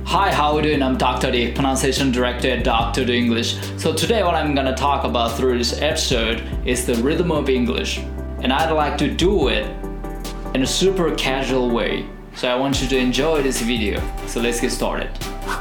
Hi, how are you doing? I'm Dr. D, pronunciation director at Dr. D English. So today what I'm gonna talk about through this episode is the rhythm of English. And I'd like to do it in a super casual way. So I want you to enjoy this video. So let's get started.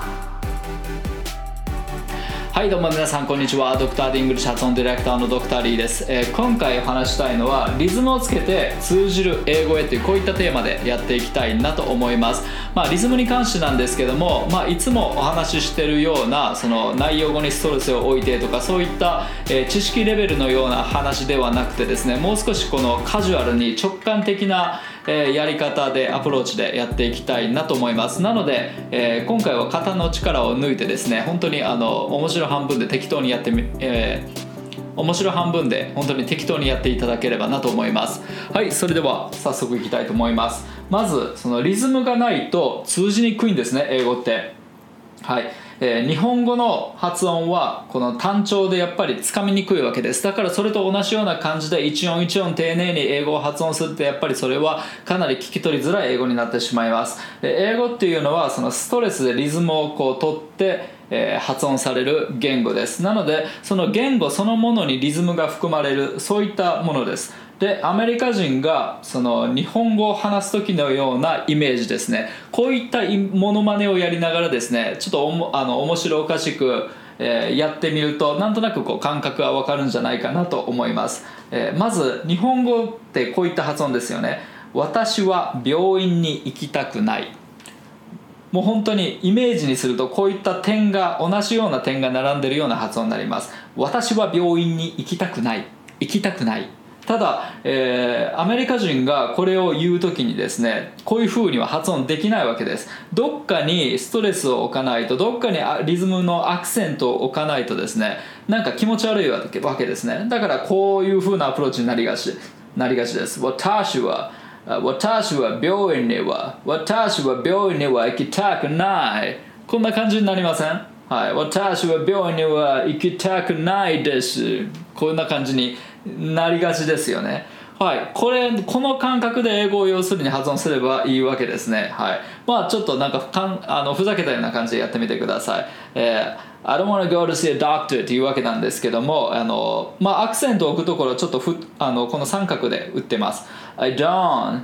はいどうも皆さんこんにちは。ドクター・ディングリッシュ発音ディレクターのドクター・リーです。今回お話したいのはリズムをつけて通じる英語へというこういったテーマでやっていきたいなと思います。リズムに関してなんですけども、いつもお話ししているようなその内容語にストレスを置いてとかそういった、知識レベルのような話ではなくてですね、もう少しこのカジュアルに直感的なやり方でアプローチでやっていきたいなと思います。なので、今回は肩の力を抜いてですね、本当に面白半分で適当にやって面白半分で本当に適当にやっていただければなと思います。はい、それでは早速いきたいと思います。まずそのリズムがないと通じにくいんですね、英語って。はい。日本語の発音はこの単調でやっぱりつかみにくいわけです。だからそれと同じような感じで一音一音丁寧に英語を発音するとやっぱりそれはかなり聞き取りづらい英語になってしまいます。英語っていうのはそのストレスでリズムをこう取って発音される言語です。なのでその言語そのものにリズムが含まれるそういったものです。でアメリカ人がその日本語を話す時のようなイメージですね。こういったモノマネをやりながらですね、ちょっと面白おかしく、やってみるとなんとなくこう感覚が分かるんじゃないかなと思います。まず日本語ってこういった発音ですよね。私は病院に行きたくない。もう本当にイメージにするとこういった点が同じような点が並んでいるような発音になります。私は病院に行きたくない、行きたくない。ただ、アメリカ人がこれを言うときにですね、こういう風には発音できないわけです。どっかにストレスを置かないと、どっかにリズムのアクセントを置かないとですね、なんか気持ち悪いわけですね。だからこういう風なアプローチになりがちです。私は病院には行きたくない。こんな感じになりません？はい、私は病院には行きたくないです。こんな感じになりがちですよね。はい、この感覚で英語を要するに発音すればいいわけですね。はい、ちょっとなんかふざけたような感じでやってみてください。I don't want to go to see a doctor っていうわけなんですけども、アクセントを置くところちょっとこの三角で打ってます。I don't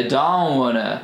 wanna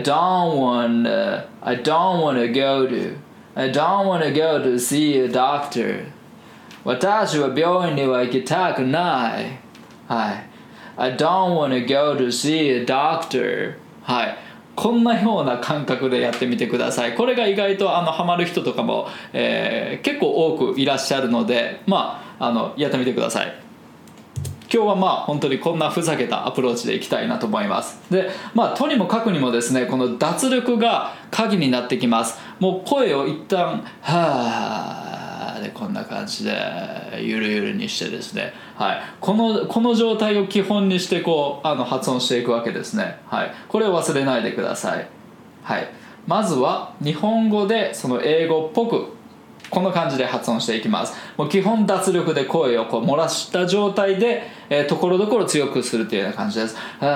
go to see a doctor. 私は病院には行きたくない。はい。I don't wanna go to see a doctor. はい。こんなような感覚でやってみてください。これが意外とハマる人とかも、結構多くいらっしゃるので、やってみてください。今日は本当にこんなふざけたアプローチでいきたいなと思います。で、とにもかくにもですね、この脱力が鍵になってきます。もう声を一旦はーでこんな感じでゆるゆるにしてですね、はい、この状態を基本にしてこう発音していくわけですね。はい、これを忘れないでください。はい、まずは日本語でその英語っぽくこの感じで発音していきます。もう基本脱力で声をこう漏らした状態で、ところどころ強くするというような感じです。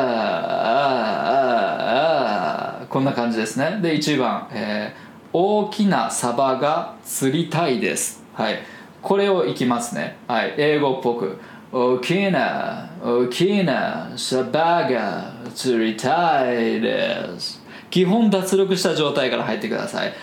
こんな感じですね。で1番、大きなサバが釣りたいです。はい、これをいきますね。はい、英語っぽく大きなサバが釣りたいです。基本脱力した状態から入ってください。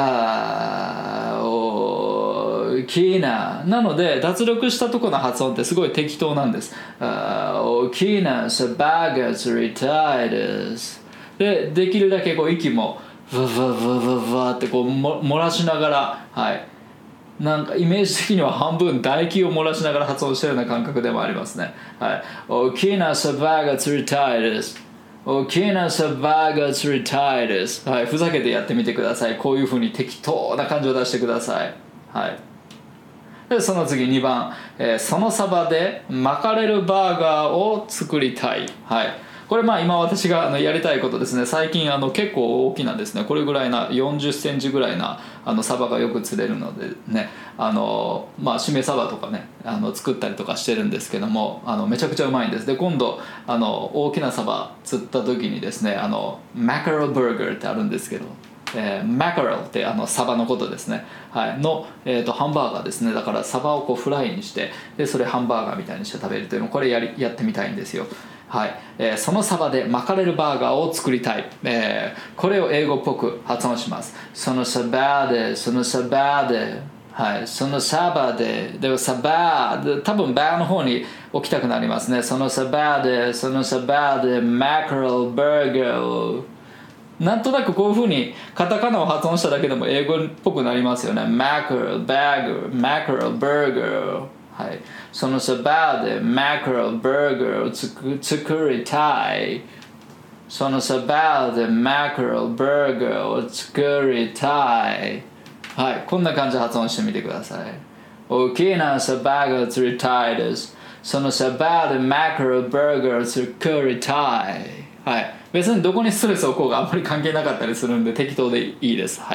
大きなので脱力したところの発音ってすごい適当なんです。大きなサバが釣りたいです。できるだけこう息もふわってこう漏らしながら、はい、なんかイメージ的には半分唾液を漏らしながら発音したような感覚でもありますね。はい、大きなサバが釣りたいです。大きなサバが釣りたいです。はい、ふざけてやってみてください。こういう風に適当な感じを出してください。はい。でその次2番、そのサバで巻かれるバーガーを作りたい。はい。これ今私がやりたいことですね。最近結構大きなですね、これぐらいな40センチぐらいなサバがよく釣れるのでね、しめサバとかね作ったりとかしてるんですけども、めちゃくちゃうまいんです。で今度大きなサバ釣った時にですねマカロバーガーってあるんですけど、 マカレルってサバのことですね、はい、の、ハンバーガーですね。だからサバをこうフライにして、でそれハンバーガーみたいにして食べるというのをこれやってみたいんですよ。はい、そのサバでマカレルバーガーを作りたい、これを英語っぽく発音します。そのサバで、そのサバで、はい、そのサバで、でもサバで、多分バーの方に置きたくなりますね。そのサバで、そのサバで、マカレルバーガーを、なんとなくこういう風にカタカナを発音しただけでも英語っぽくなりますよね。マカレルバーガー、マカレルバーガー、はい、そのサバでマカレルバーガーを作りたい。そのサバでマカレルバーガーを作りたい。はい、こんな感じで発音してみてください。大きなサバが釣りたいです。そのサバでマカレルバーガーを作りたい。はい、別にどこにストレスを置こうがあんまり関係なかったりするんで適当でいいです。はい。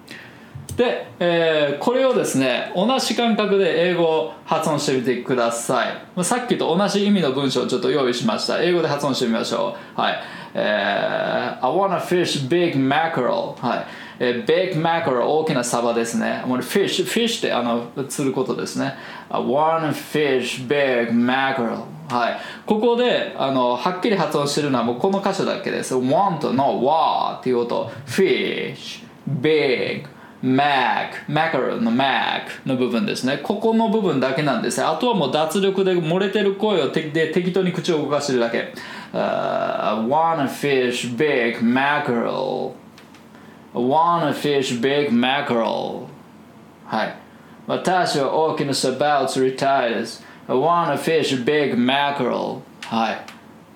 で、これをですね、同じ感覚で英語を発音してみてください。さっきと同じ意味の文章をちょっと用意しました。英語で発音してみましょう。はい。I wanna fish big mackerel。はい。big mackerel 大きなサバですね。fish って釣ることですね。I wanna fish big mackerel。はい。ここではっきり発音してるのはもうこの箇所だけです。want の wa っていう音。fish big mackerel の mac の部分ですね。ここの部分だけなんです。あとはもう脱力で漏れてる声をで適当に口を動かしてるだけ。I wanna fish big mackerel。I wanna fish big mackerel。はい。私は大きなサバを釣りたいです。I wanna fish big mackerel。はい。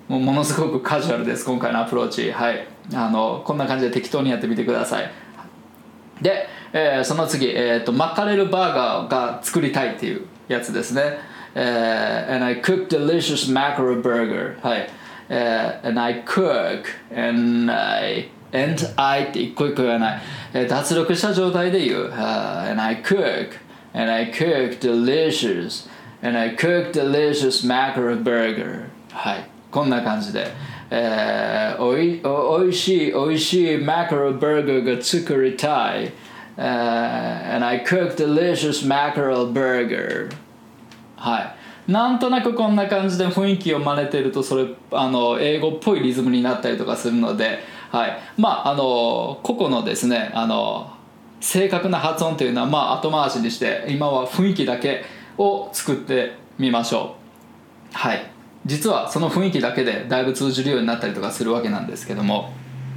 ものすごくカジュアルです、今回のアプローチ。はい。こんな感じで適当にやってみてください。で、その次、マカレルバーガーが作りたいっていうやつですね。And I cook delicious mackerel burger。はい。and I cook and I って一個一個言わない。脱力した状態で言う。and I cook delicious and I cook delicious mackerel burger。はい。こんな感じで。おいしいマカレルバーガーが作りたい。and I cook delicious mackerel burger。はい。なんとなくこんな感じで雰囲気を真似てるとそれ英語っぽいリズムになったりとかするので、はい、個々のですね正確な発音というのは後回しにして今は雰囲気だけを作ってみましょう。はい。実はその雰囲気だけでだいぶ通じるようになったりとかするわけなんですけども、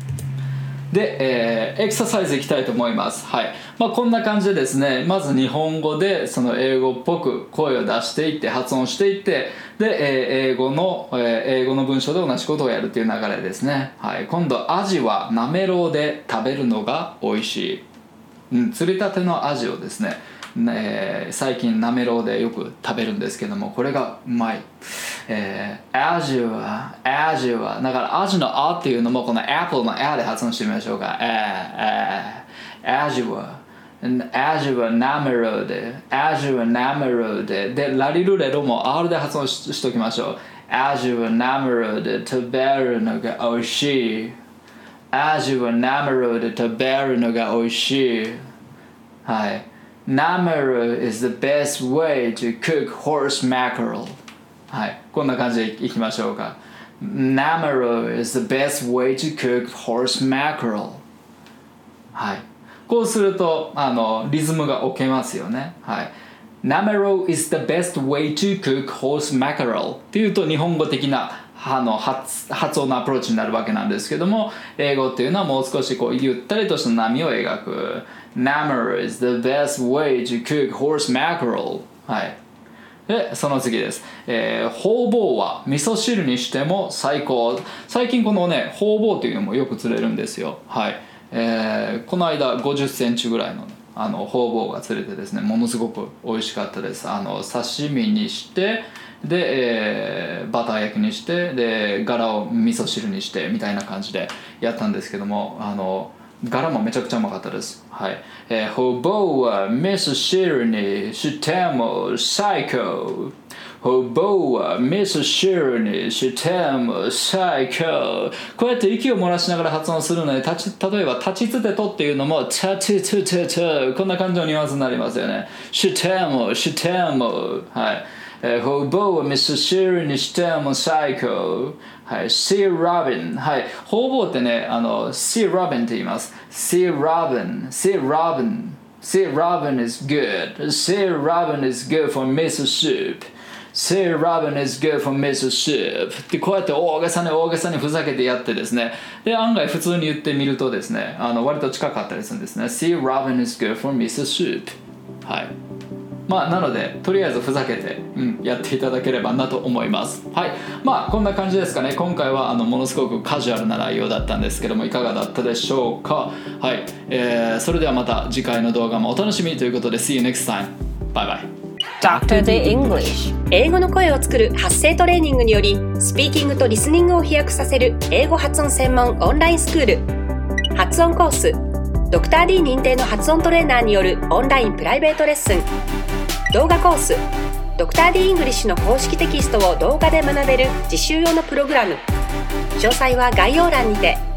で、エクササイズいきたいと思います。はい。こんな感じでですね、まず日本語でその英語っぽく声を出していって発音していって、で、英語の文章で同じことをやるっていう流れですね。はい。今度アジはなめろうで食べるのが美味しい。釣りたてのアジをですね、最近なめろうでよく食べるんですけども、これがうまい。アジはだからアジのあっていうのもこのアップルのあで発音してみましょうか。アジはなめろうででラリルレロも R で発音しときましょう。アジはなめろうで食べるのが美味しい。アジはなめろうで食べるのが美味しい。はい。Namuru is the best way to cook horse mackerel。 はい。こんな感じでいきましょうか。Namuru is the best way to cook horse mackerel。 はい。こうするとリズムが置けますよね。はい。Namuru is the best way to cook horse mackerel っていうと日本語的な発音のアプローチになるわけなんですけども、英語っていうのはもう少しこうゆったりとした波を描く。Namuru is the best way to cook horse mackerel。 はい。でその次です。ホウボウは味噌汁にしても最高。最近このねホウボウというのもよく釣れるんですよ。はい。この間50センチぐらいのホウボウが釣れてですね、ものすごく美味しかったです。刺身にしてで、バター焼きにしてで柄を味噌汁にしてみたいな感じでやったんですけども、柄もめちゃくちゃうまかったです。はい。ホウボウは味噌汁にしても最高。 ホボはミスシュルにしても最高。こうやって息を漏らしながら発音するので、例えば立ちつてとっていうのもチャチチチチこんな感じのニュアンスになりますよね。してもはい。ホボはミスシュルにしても最高。はい、See Robin。はい、ホボってね、See Robin って言います。See Robin is good. See Robin is good for miso soup.See Robin is good for miso soup. ってこうやって大げさにふざけてやってですね。で、案外普通に言ってみるとですね、割と近かったりするんですね。See Robin is good for miso soup. はい。なのでとりあえずふざけて、やっていただければなと思います。はい、こんな感じですかね。今回はものすごくカジュアルな内容だったんですけども、いかがだったでしょうか。はい、それではまた次回の動画もお楽しみということで See you next time. Bye bye. Dr. The English。 英語の声を作る発声トレーニングにより、スピーキングとリスニングを飛躍させる英語発音専門オンラインスクール。発音コース、ドクター D 認定の発音トレーナーによるオンラインプライベートレッスン。動画コース、ドクター D イングリッシュの公式テキストを動画で学べる実習用のプログラム。詳細は概要欄にて。